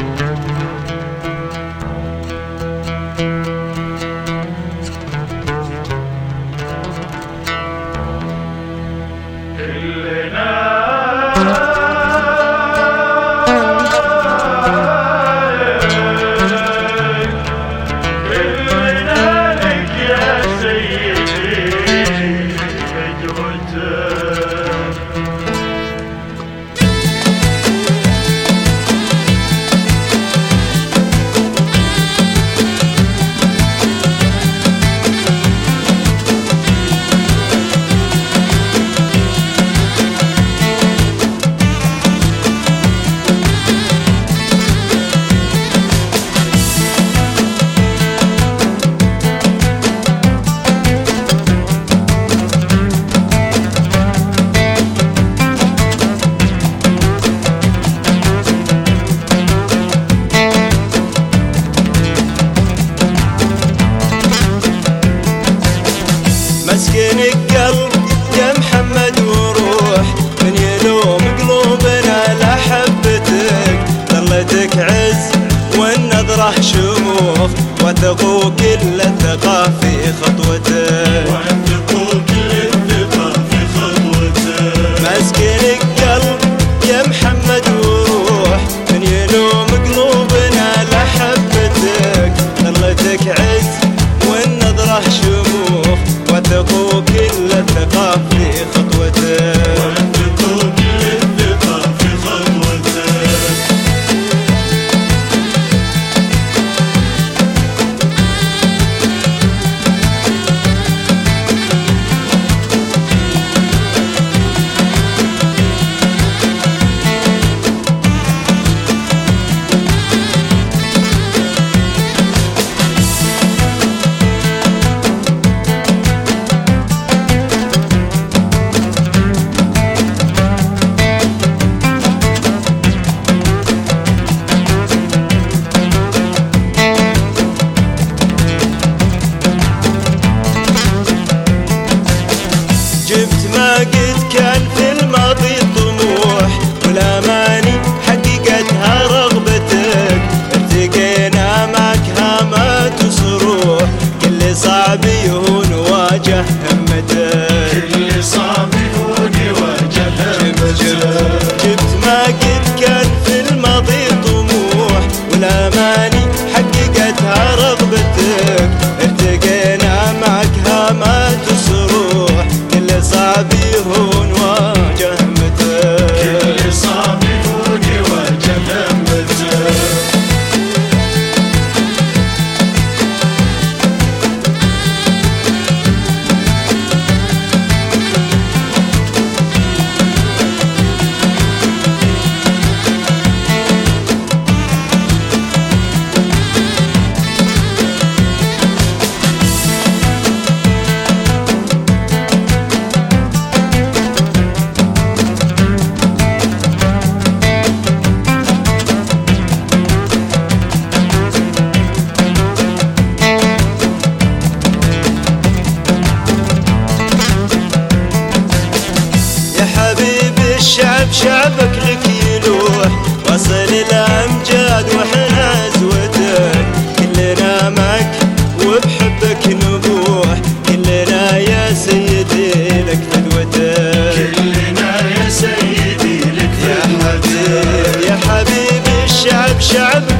مسكين القلب يا محمد وروح، من يلوم قلوبنا لحبتك، ظلتك عز والنظرة شموخ، وثقوا كل الثقة في خطوتك، مسكين القلب يا محمد وروح، من يلوم قلوبنا لحبتك، ظلتك عز والنظرة شموخ، وثقوا كل الثقة في خطوتك، وثقوا كل الثقة في خطوتك. جبت ما قد كان في الماضي طموح، والاماني حققتها رغبتك، التقينا معك هامات وصروح، كل صعب يهون واجه همتك، كل صعب يهون واجه همتك. جبت ما قد كان في الماضي طموح، والاماني حققتها رغبتك، التقينا معك هامات وصروح، صعب يهون واجه همتك، كل صعب يهون واجه همتك. الشعب شعبك لك يلوح، وصل الأمجاد وحنا زوتك، كلنا معك وبحبك نبوح، كلنا يا سيدي لك فدوتك، كلنا يا سيدي لك فدوتك، يا حبيبي الشعب شعبك